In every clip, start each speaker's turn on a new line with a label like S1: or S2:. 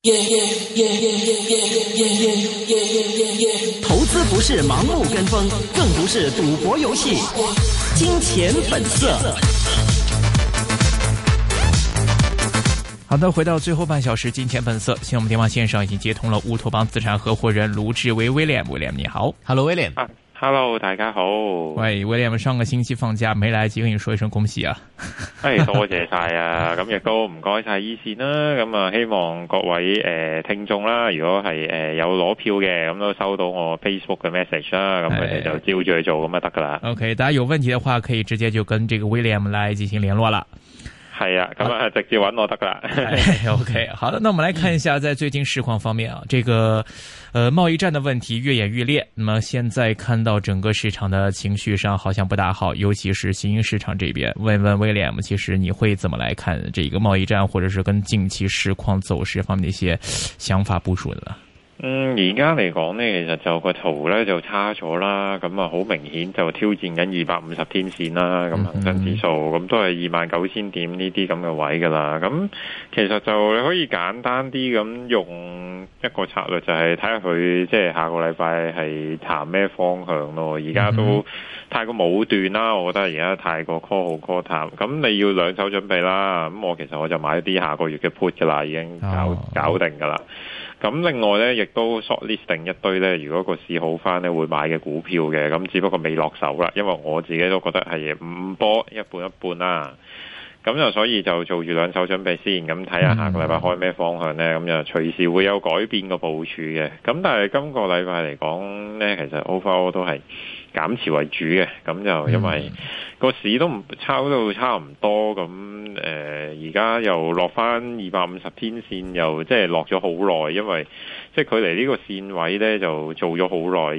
S1: 投资不是盲目跟风，更不是赌博游戏。金钱本色。
S2: 好的，回到最后半小时，金钱本色。现在我们电话线上已经接通了乌托邦资产合伙人卢志威 William， 你好
S3: ，Hello William。
S4: Hello， 大家好。
S2: 喂 ，William， 上個星期放假沒來及跟你說一聲恭喜啊！
S4: 多謝晒啊！咁亦都唔該晒依線啦。咁啊，希望各位聽眾啦，如果係有攞票嘅，咁都收到我 Facebook 嘅 message 啦，咁佢哋就照住去做咁就得噶啦。
S2: OK， 大家有問題的話，可以直接就跟這個 William 來進行聯絡啦。
S4: 係啊，咁啊，直接揾我得噶啦。
S2: OK， 好的，那我們來看一下在最近市況方面啊，這個貿易戰的問題越演越烈。那麼現在看到整個市場的情緒上好像不大好，尤其是新興市場這邊。問問 William， 其實你會怎麼來看這個貿易戰，或者是跟近期市況走勢方面的一些想法部署呢？
S4: 而家嚟講呢，其實就個圖呢就差咗啦，咁啊好明顯就挑戰緊250天線啦，咁恒生指數咁都係29,000點呢啲咁嘅位噶啦。咁其實就你可以簡單啲咁用一個策略，就係睇下佢即係下個禮拜係行咩方向咯。而家都太過武斷啦，我覺得而家太過 call 好 call 淡，咁你要兩手準備啦。咁其實我就買啲下個月嘅 put 噶啦，已經搞定噶啦。咁另外咧，亦都 short list 定一堆咧，如果個市好翻咧，會買嘅股票嘅，咁只不過未落手啦，因為我自己都覺得係五波一半一半啦。咁就所以就做住兩手準備先，咁睇下下個禮拜開咩方向咧，咁就隨時會有改變個部署嘅。咁但係今個禮拜嚟講咧，其實 overall 都係減持為主嘅，咁就因為個市都唔抄到差唔多，咁而家又落翻250天線，又即係落咗好耐，因為即係距離呢個線位咧就做咗好耐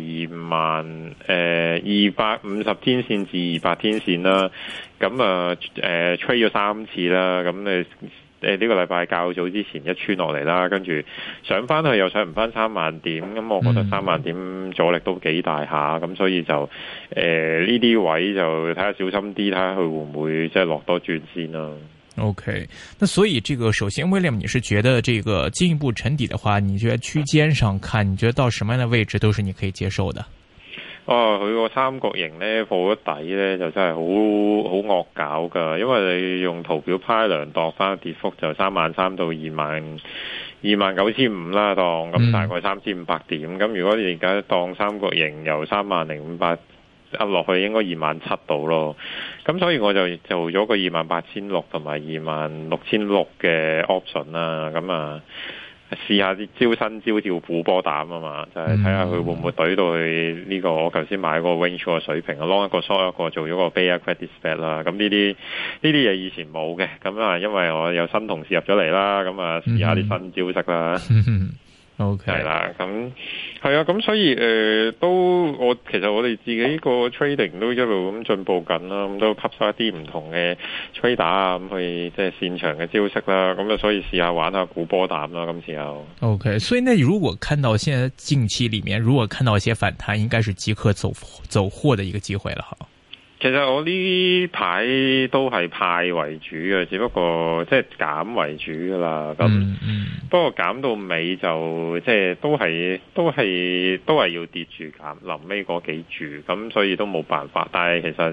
S4: ，250天線至200天線啦，咁吹咗3次啦，咁呢個禮拜較早之前一穿落嚟啦，跟住上翻去又上唔翻3萬點，咁我覺得3萬點阻力都幾大下，咁所以就呢啲位就睇下小心啲，睇下佢會唔會即係落多轉先啦。
S2: OK， 那所以這個首先 William， 你是覺得這個進一步沉底的話，你覺得區間上看，你覺得到什麼樣的位置都是你可以接受的？
S4: 佢個三角形咧破咗底咧就真係好惡搞噶，因為你用圖表派量度翻跌幅就33,000到29,500啦，當咁大概3,500點。咁如果你而家當三角形由30,500落去，應該27,000到咯。咁所以我就做咗個28,600同埋26,600嘅 option 啦。咁試下啲招新招叫虎波膽啊嘛，就係睇下佢會唔會懟到去呢個我頭先買個 range 個水平，long 一個 short 一個，做咗個 bear credit spread 啦。咁呢啲嘢以前冇嘅，咁因為我有新同事入咗嚟啦，咁試下啲新招式啦。
S2: OK，
S4: 係啦，咁係啊，咁所以其實我哋自己個 trading 都一路咁進步緊啦，咁都吸收一啲唔同嘅 trader 啊，咁去即係擅長嘅招式啦，咁所以試下玩下股波膽啦，今次又
S2: OK。所以呢，如果看到現在近期裏面，如果看到一些反彈，應該是即刻走貨的一個機會了哈。
S4: 其實我呢排都係派為主嘅，只不過即係減為主噶啦。咁不過減到尾就即係都係要跌住減，臨尾嗰幾注，咁所以都冇辦法。但係其實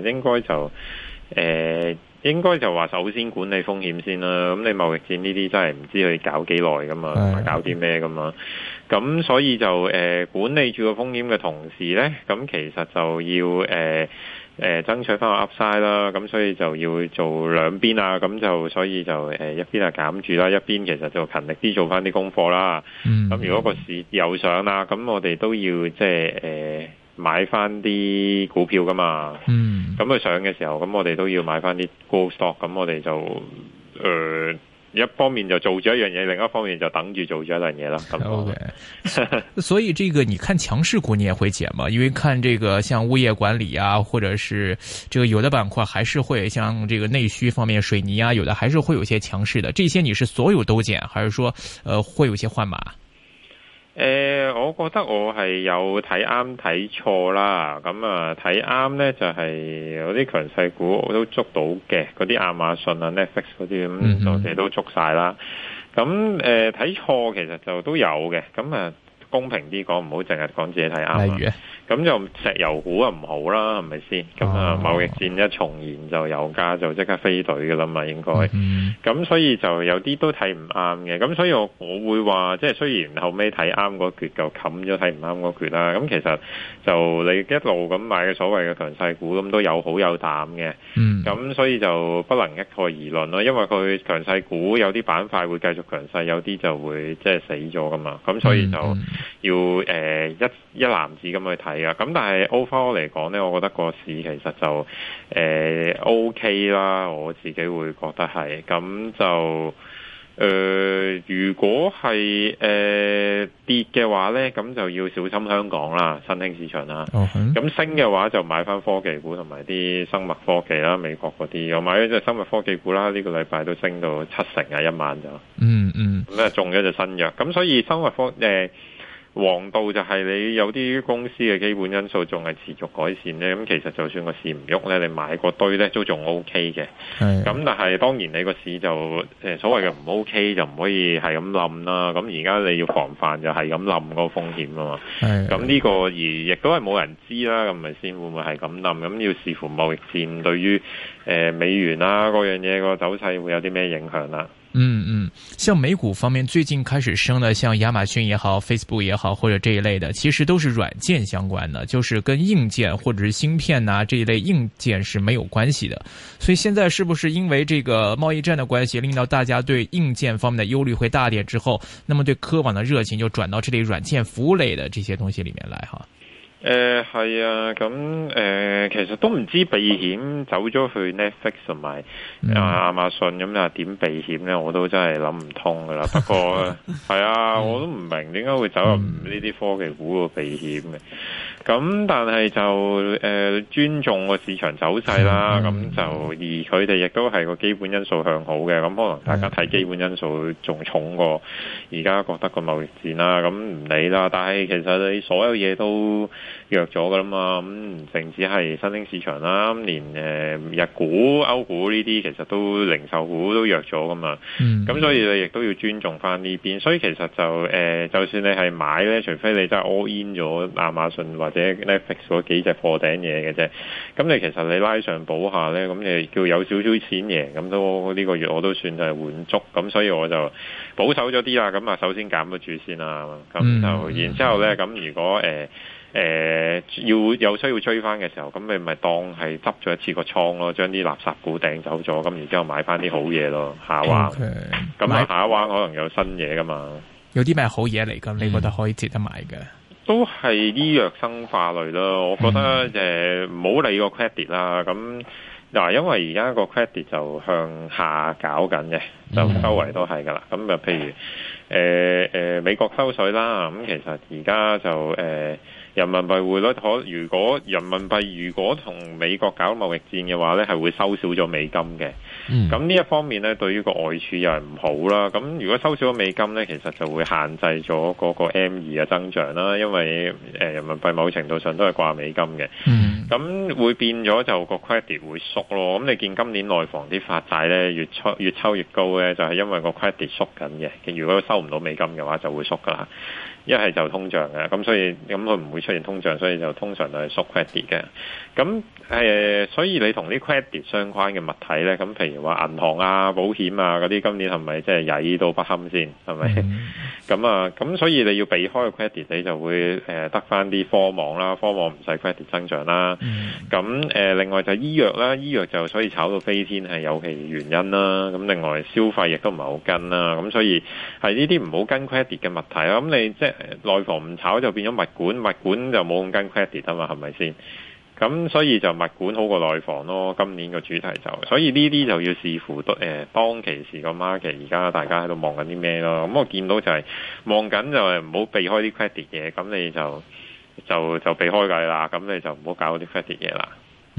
S4: 應該就話首先管理風險先啦。咁你貿易戰呢啲真係唔知佢搞幾耐噶嘛，同埋搞啲咩噶嘛。咁所以就管理住個風險嘅同時咧，咁其實就要爭取翻個 Upside 啦，咁所以就要做兩邊啊，咁就所以就一邊係減住啦，一邊其實就勤力啲做翻啲功課啦。咁如果個市有上啦，咁我哋都要即係買翻啲股票噶嘛。咁佢上嘅時候，咁我哋都要買翻啲 growth stock，咁我哋就一方面就做咗一樣嘢，另一方面就等住做咗一樣嘢啦。
S2: OK， 所以這個你看強勢股你也會減嗎？因為看這個像物業管理啊，或者是這個有的板塊還是會像這個內需方面水泥啊，有的還是會有些強勢的。這些你是所有都減，還是說會有些換碼？
S4: 我覺得我係有睇啱睇錯啦，咁睇啱呢就係有啲強勢股我都捉到嘅，嗰啲亞馬遜啊、Netflix 嗰啲咁我哋都捉晒啦。 咁睇錯其實就都有嘅，咁公平啲講，唔好淨係講自己睇啱啦。咁就石油股啊唔好啦，係咪先？咁貿易戰一重燃就油價就即刻飛隊㗎啦嘛，應該。咁所以就有啲都睇唔啱嘅。咁所以我會話，即係雖然後尾睇啱嗰橛就冚咗睇唔啱嗰橛啦。咁其實就你一路咁買嘅所謂嘅強勢股，咁都有好有淡嘅。咁所以就不能一概而論咯，因為佢強勢股有啲板塊會繼續強勢，有啲就會即係死咗噶嘛。咁所以就要一籃子咁去睇。咁但係 overall 嚟講呢，我覺得個市其實就OK 啦，我自己會覺得係。咁就如果係跌嘅話呢，咁就要小心香港啦，新興市場啦。咁升嘅話就買翻科技股同埋啲生物科技啦，美國嗰啲。我買咗隻生物科技股啦，呢個禮拜都升到70%一晚就。咁中咗隻新藥。咁所以生物王道就係你有啲公司嘅基本因素仲係持續改善呢，咁其實就算個市唔喐呢，你買個堆呢都仲 OK 嘅。咁但係當然你個市就所謂嘅唔 OK 就唔可以係咁冧啦。咁而家你要防範就係咁冧嗰個風險啊嘛。咁呢個而亦都係冇人知啦，咁咪先會唔會係咁冧？咁要視乎貿易戰對於美元啦嗰樣嘢個走勢會有啲咩影響啦。
S2: 像美股方面最近開始升的，像亞馬遜也好 Facebook 也好或者這一類的，其實都是軟件相關的，就是跟硬件或者是芯片啊這一類硬件是沒有關係的。所以現在是不是因為這個貿易戰的關係，令到大家對硬件方面的憂慮會大點之後，那麼對科網的熱情就轉到這類軟件服務類的這些東西裏面來哈？
S4: 係啊，咁其實都唔知避險走咗去 Netflix 同埋亞馬遜咁啊，點避險咧？我都真係諗唔通噶啦。不過係啊，我都唔明點解會走入呢啲科技股個避險嘅。咁但係就尊重個市場走勢啦。咁就而佢哋亦都係個基本因素向好嘅。咁可能大家睇基本因素仲重過而家覺得個貿易戰啦。咁唔理啦。但係其實你所有嘢都弱咗噶啦嘛，咁唔淨止係新興市場啦，連日股、歐股呢啲其實都零售股都弱咗噶嘛，咁所以你亦都要尊重翻呢邊。所以其實就就算你係買咧，除非你真係 all in 咗亞馬遜或者 Netflix 嗰幾隻破頂嘢嘅啫，咁你其實你拉上補下咧，咁你叫有少少錢贏，咁都呢個月我都算係滿足，咁所以我就保守咗啲啦。咁啊，首先減咗住先啦，咁就然之後咧，咁如果要有需要追翻嘅時候，咁你咪當係執咗一次個倉咯，將啲垃圾股掟走咗，咁然之後買翻啲好嘢咯，下一彎。咁下一彎可能有新嘢噶嘛？有啲咩好嘢嚟㗎？你覺得可以值得買嘅？都係醫藥生化類咯，我覺得唔好理個 credit 啦。咁嗱，因為而家個 credit 就向下搞緊嘅，就周圍都係噶啦。咁就譬如美國收水啦，咁其實而家就人民幣匯率如果人民幣如果同美國搞貿易戰嘅話咧，係會收少咗美金嘅。咁呢一方面咧，對於個外儲又係唔好啦。咁如果收少咗美金咧，其實就會限制咗嗰個 M2 嘅增長啦。因為人民幣某程度上都係掛美金嘅。咁會變咗就個 credit 會縮咯。咁你見今年內房啲發債咧越抽越高咧，就係因為個 credit 縮緊嘅。如果收唔到美金嘅話，就會縮噶啦。一係就通脹嘅，咁所以佢唔會出現通脹，所以就通常都係縮 credit 嘅。咁所以你同啲 credit 相關嘅物體咧，咁譬如話銀行啊、保險啊嗰啲，今年係咪即係曳到不堪先？係咪？咁所以你要避開個 credit，你就會得翻啲科網啦，科網唔使 credit 增長啦。咁另外就醫藥啦，醫藥就所以炒到飛天係有其原因啦。咁另外消費亦都唔係好跟啦。咁所以係呢啲唔好跟 credit 嘅物體啦。咁你即係內房唔炒就變咗物管，物管就冇咁跟 credit 啊嘛，係咪先？咁所以就物管好過內房咯。今年個主題就，所以呢啲就要視乎當其時個 market 而家大家喺度望緊啲咩咯。咁我見到就係望緊就係唔好避開啲 credit 嘢，咁你就避開㗎啦。咁你就唔好搞啲 credit 嘢啦。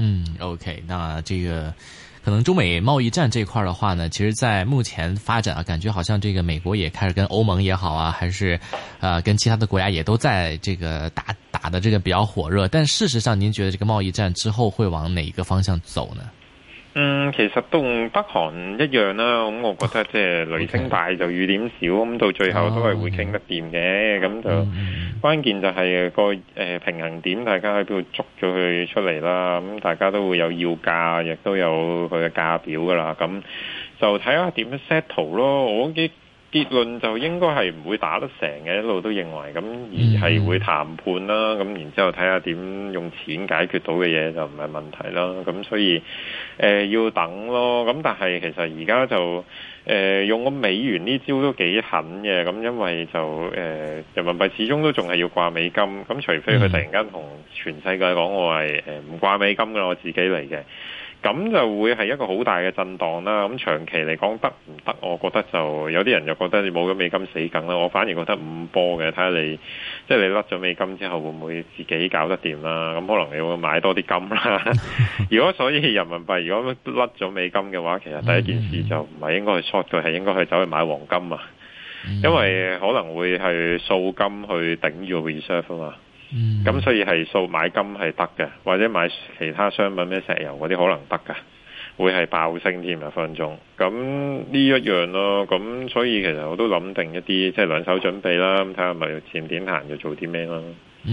S3: OK， 那這個可能中美貿易戰這塊的話呢，其實在目前發展啊，感覺好像這個美國也開始跟歐盟也好啊，還是跟其他的國家也都在這個打的這個比較火熱。但事實上，您覺得這個貿易戰之後會往哪一個方向走呢？
S4: 其實同北韓一樣啦，咁我覺得即係雷聲大就雨點少，咁到最後都係會傾得掂嘅，咁就關鍵就係個平衡點，大家喺邊度捉咗佢出嚟啦，咁大家都會有要價，亦都有佢嘅價表噶啦，咁就睇下點樣 settle 咯，我結論就應該係唔會打得成嘅，一路都認為咁，而係會談判啦，咁然之後睇下點用錢解決到嘅嘢就唔係問題啦，咁所以要等咯，咁但係其實而家就用個美元呢招都幾狠嘅，咁因為就人民幣始終都仲係要掛美金，咁除非佢突然間同全世界講我係唔掛美金㗎，我自己嚟嘅。咁就會係一個好大嘅震盪啦。咁長期嚟講得唔得？我覺得就有啲人就覺得你冇咗美金死梗啦。我反而覺得五波嘅，睇下你即係你甩咗美金之後會唔會自己搞得掂啦？咁可能你會買多啲金啦。如果所以人民幣如果甩咗美金嘅話，其實第一件事就唔係應該去 short 佢，係應該去走去買黃金啊。因為可能會係掃金去頂住個 reserve 啊嘛。咁所以係數買金係得嘅，或者買其他商品咩石油嗰啲可能得㗎，會係爆升添啊分鐘。咁呢一樣咯，咁所以其實我都諗定一啲即係兩手準備啦，咁睇下咪前點行就做啲咩咯。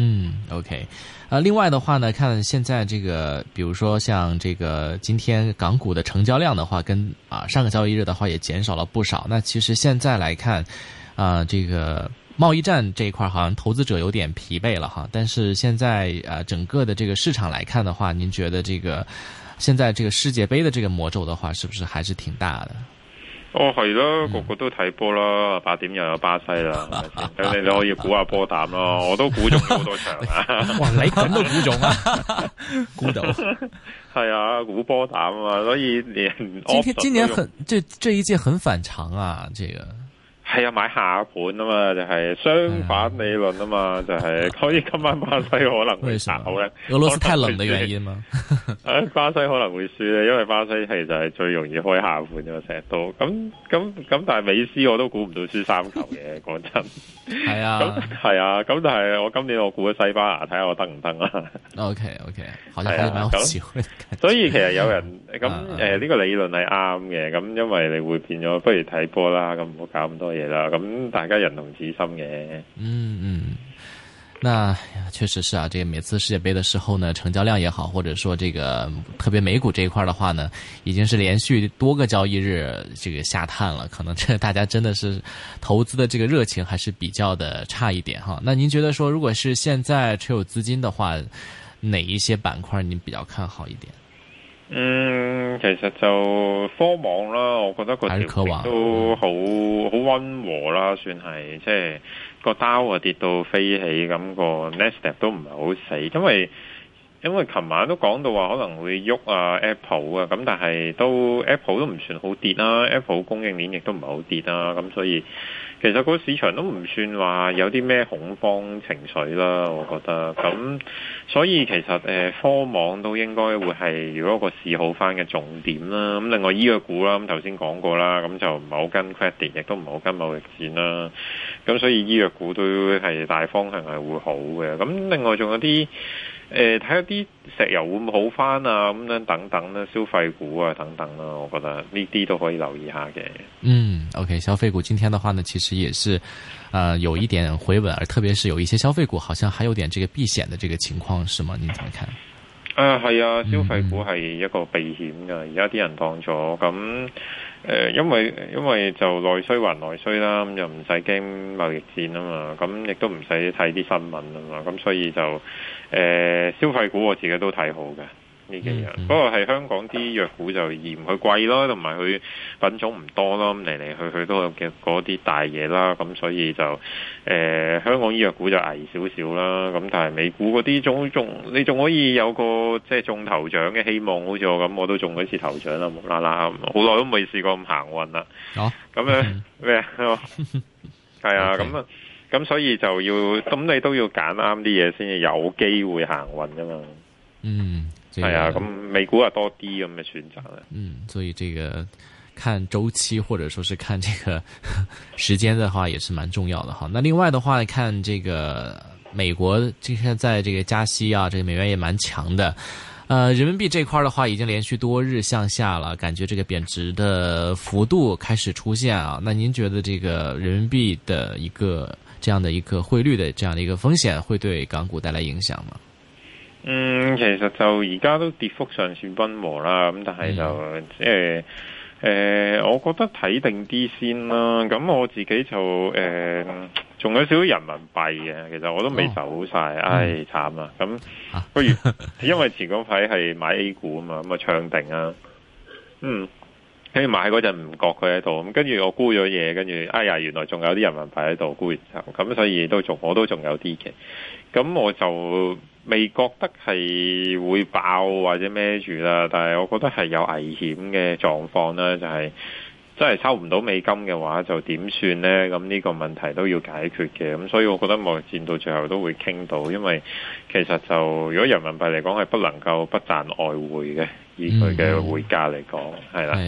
S3: OK，另外的話呢，看現在這個，比如說像這個今天港股的成交量的話，跟上個交易日的話也減少了不少。那其實現在來看，這個貿易戰這一塊好像投資者有點疲憊了哈，但是現在整個的這個市場來看的話，您覺得這個現在這個世界盃的這個魔咒的話，是不是還是挺大的？
S4: 係咯，個個都睇波啦，8點又有巴西啦，咁你可以估下波膽咯，我都估中好多場啊！
S2: 哇，你咁都估中啊？估到
S4: 係啊，估波膽啊，所以連
S3: 今年這一屆很反常啊，這個。
S4: 係啊，買下盤啊嘛，就係相反理論啊嘛，就係所以今晚巴西可能會炒咧。
S3: 俄羅斯太冷的原因嗎？
S4: 巴西可能會輸咧，因為巴西其實係最容易開下盤嘅，成日都咁，但係美斯我都估唔到輸3球嘅，講真。係啊，係啊，咁但係我今年我估咗西班牙，睇下我得唔得啊
S3: ？OK，好似蠻有機會。
S4: 所以其實有人咁呢個理論係啱嘅，咁因為你會變咗，不如睇波啦，咁唔好搞咁多嘢啦，咁大家人同此心嘅。
S3: 那確實是啊，這個每次世界盃的時候呢，成交量也好，或者說這個特別美股這一塊的話呢，已經是連續多個交易日這個下探了，可能這大家真的是投資的這個熱情還是比較的差一點哈。那您覺得說，如果是現在持有資金的話，哪一些板塊您比較看好一點？
S4: 其實就科網啦，我覺得個調整都好溫和啦，算係即係個Dow跌到飛起，咁個 Nasdaq 都唔係好死，因為琴晚都講到話可能會喐啊 Apple 啊，咁但係Apple 都唔算好跌啦，Apple 供應鏈亦都唔係好跌啦，咁所以其實個市場都唔算話有啲咩恐慌情緒啦，我覺得咁，所以其實科網都應該會係如果個市好翻嘅重點啦。咁另外醫藥股啦，咁頭先講過啦，咁就唔係好跟 credit，亦都唔係好跟貿易戰啦。咁所以醫藥股都係大方向係會好嘅。咁另外仲有啲睇下啲石油會唔會好翻啊？咁樣等等啦，消費股啊等等啦，我覺得呢啲都可以留意下嘅。
S3: OK， 消費股今天的話呢，其實也是，有一點回穩，而特別是有一些消費股，好像還有點這個避險的這個情況，是嗎？你怎麼看？
S4: 係啊，消費股係一個避險㗎，而家啲人當咗咁，因為就內需還內需啦，咁又唔使驚貿易戰啊嘛，咁亦都唔使睇啲新聞啊嘛，咁所以就消費股我自己都睇好嘅。呢幾樣，不過係香港啲藥股就嫌佢貴咯，同埋佢品種唔多咯，咁嚟嚟去都有嘅嗰啲大嘢啦，咁所以就香港醫藥股就危少少啦，咁但係美股嗰啲你仲可以有個即係中頭獎嘅希望，好似我咁，我都中咗次頭獎啦，無啦啦，好耐都未試過咁行運啦。咁樣咩啊？係啊，咁所以就要，咁你都要揀啱啲嘢先至有機會行運噶嘛。係啊，咁美股啊多啲咁嘅選擇啦。
S3: 所以這個看週期或者說是看這個時間的話，也是蠻重要的哈。那另外的話，看這個美國現在這個加息啊，這個美元也蠻強的。 人民幣這塊的話已經連續多日向下了，感覺這個貶值的幅度開始出現啊。那您覺得這個人民幣的一個這樣的一個匯率的這樣的一個風險會對港股帶來影響嗎？
S4: 其實就而家都跌幅尚算溫和啦，咁但係就即係我覺得睇定啲先啦。咁我自己就仲有少少人民幣嘅，其實我都未走晒，唉慘啊！咁不如因為前嗰排係買 A 股啊嘛，咁啊唱定啊，跟住買嗰陣唔覺佢喺度，咁跟住我沽咗嘢，跟住哎呀原來仲有啲人民幣喺度，沽完之後，咁所以我都仲有啲嘅，咁我就未覺得係會爆或者孭住啦，但係我覺得係有危險嘅狀況啦，就係真係抽唔到美金嘅話，就點算呢？咁呢個問題都要解決嘅，咁所以我覺得貿易戰到最後都會傾到，因為其實就如果人民幣嚟講係不能夠不賺外匯嘅，以佢嘅匯價嚟講係啦。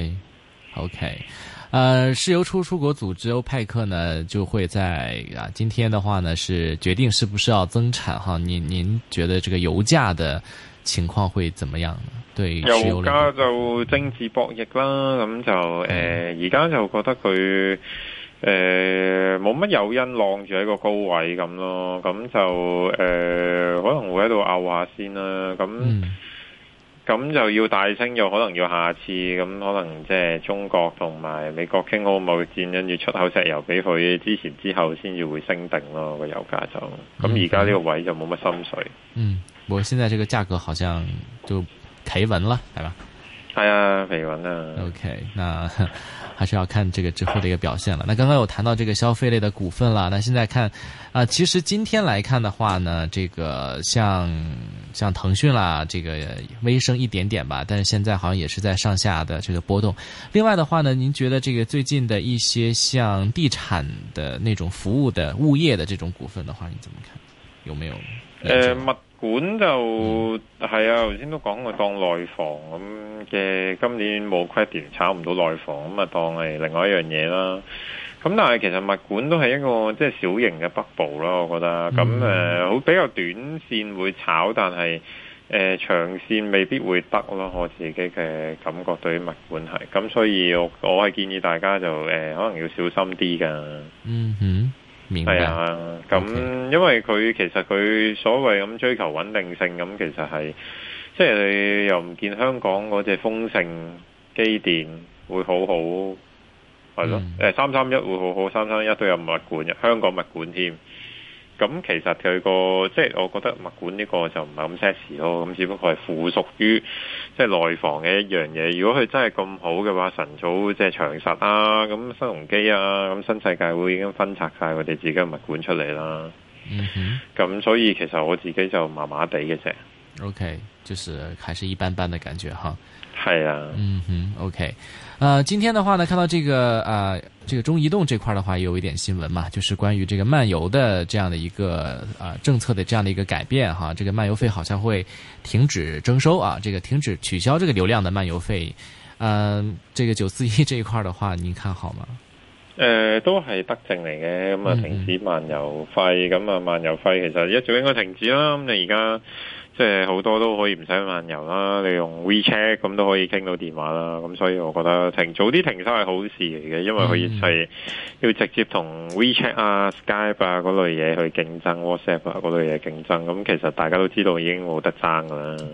S3: OK，石油出國組織歐派克呢就會在今天的話呢是決定是不是要增產哈？您覺得這個油價的情況會怎麼樣呢？對
S4: 油價就政治博弈啦，咁就而家就覺得佢冇乜誘因晾住喺個高位咁咯，咁就可能會喺度拗下先啦，咁就要大升，又可能要下次，咁可能即係中國同埋美國傾好貿易戰，跟住出口石油俾佢之前之後先至會升定咯，個油價就咁而家呢個位就冇乜心水。
S3: 不過現在這個價格好像就企穩了，係吧？
S4: 係啊，企穩啊。
S3: OK，那還是要看這個之後的一個表現了。那剛剛有談到這個消費類的股份了，那現在看其實今天來看的話呢，這個像騰訊啦，這個微升一點點吧，但是現在好像也是在上下的這個波動。另外的話呢，您覺得這個最近的一些像地產的那種服務的物業的這種股份的話，你怎麼看？有沒有？
S4: 物管就係啊，頭先都講過當內房咁嘅，今年冇 credit 炒唔到內房，咁啊當係另外一樣嘢啦。咁但係其實物管都係一個即係小型嘅 bubble 咯，我覺得。咁好比較短線會炒，但係長線未必會得咯。我自己嘅感覺對於物管係，咁所以我係建議大家就可能要小心啲㗎。係啊，咁因為佢其實佢所謂咁追求穩定性，咁其實係即係你又唔見香港嗰隻豐盛機電會好好，係咯，331會好好，331都有物管，香港物管添。咁其實佢個即係我覺得物管呢個就唔係咁 sexy 咯，咁只不過係附屬於即係內房嘅一樣嘢。如果佢真係咁好嘅話，晨早即係長實啊，咁新鴻基啊，咁新世界會已經分拆晒佢哋自己嘅物管出嚟啦。咁所以其實我自己就麻麻地嘅啫。
S3: OK，就是還是一般般的感覺哈。
S4: 係啊
S3: ，OK，今天的話呢，看到這個中移動這塊的話，也有一點新聞嘛，就是關於這個漫遊的這樣的一個政策的這樣的一個改變哈，這個漫遊費好像會停止徵收啊，這個停止取消這個流量的漫遊費，這個941這一塊的話，您看好嗎？
S4: 都係德政嚟嘅，咁啊停止漫遊費，咁啊漫遊費其實一早應該停止啦，咁你而家。即係好多都可以唔使漫遊啦，你用 WeChat 咁都可以傾到電話啦，咁所以我覺得早啲停收係好事嚟嘅，因為佢係要直接同 WeChat 啊、Skype 啊嗰類嘢去競爭 ，WhatsApp 啊嗰類嘢競爭，咁其實大家都知道已經冇得爭噶啦。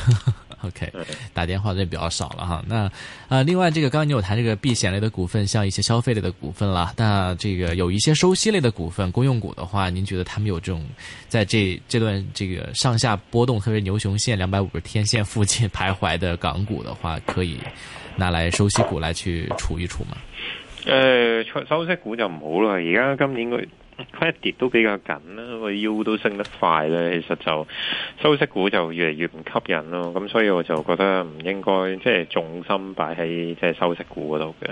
S3: OK，打電話就比較少了哈。那另外這個剛剛你有談這個避險類的股份，像一些消費類的股份啦，那這個有一些收息類的股份，公用股的話，您覺得他們有這種在這段這個上下波動，特別牛熊線250天線附近徘徊的港股的話，可以拿來收息股來去儲一儲嗎？
S4: 收息股就唔好啦，而家今年佢 credit 都比較緊啦，個 U 都升得快咧，其實就收息股就越嚟越唔吸引咯，咁所以我就覺得唔應該即係重心擺喺即係收息股嗰度嘅。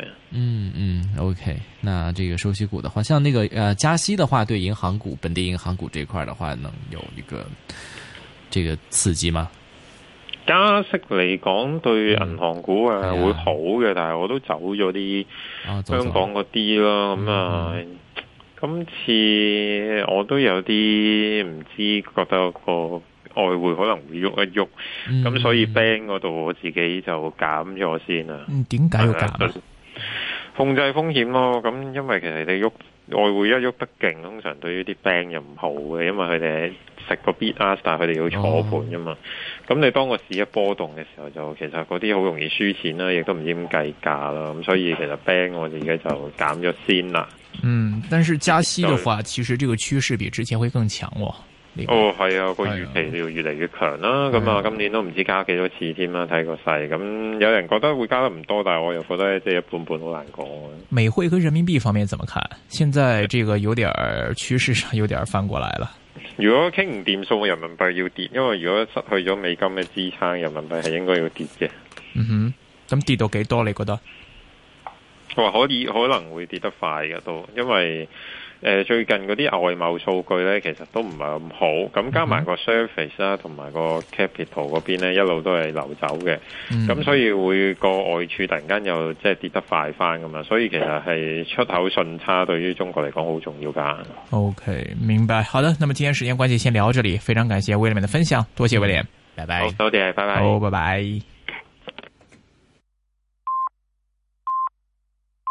S3: OK，那這個收息股的話，像那個加息的話，對銀行股、本地銀行股這塊的話，能有一個這個刺激嗎？
S4: 加息嚟講對銀行股會好嘅，但係我都走咗啲香港嗰啲咯，咁今次我都有啲唔知，覺得個外匯可能會喐一喐，咁所以 bank 嗰度我自己就減咗先啦。
S2: 點解要減啊？
S4: 控制風險咯，咁因為其實你喐外匯一喐得勁，通常對於啲 bank 又唔好嘅，因為佢哋食個 bid ask， 但係佢哋要坐盤㗎嘛。咁你當個市一波動嘅時候，就其實嗰啲好容易輸錢啦，亦都唔知點計價啦。咁所以其實 bank 我自己就減咗先啦。
S2: 但是加息的話，其實這個趨勢比之前會更強喎。
S4: 係啊，個預期要越嚟越強啦。咁啊，今年都唔知加幾多次添啦，睇個勢。咁有人覺得會加得唔多，但係我又覺得即係一半半，好難講。
S2: 美匯跟人民幣方面怎麼看？現在這個有點趨勢上有點翻過來了。
S4: 如果傾唔掂數，人民幣要跌，因為如果失去咗美金嘅支撐，人民幣係應該要跌嘅。
S2: 咁跌到幾多？你覺得？
S4: 可能會跌得快嘅都，因為最近嗰啲外貿數據咧，其實都唔係咁好，咁加埋個 service 啦，同埋個 capital 嗰邊咧，一路都係流走嘅，咁所以會個外儲突然間又即係跌得快翻咁嘛，所以其實係出口順差對於中國嚟講好重要噶。
S2: OK， 明白。好的，那麼今天時間關係先聊到這裡，非常感謝 William 的分享，多謝 William，拜拜。
S4: 好，多謝，拜拜。
S2: 好，拜拜。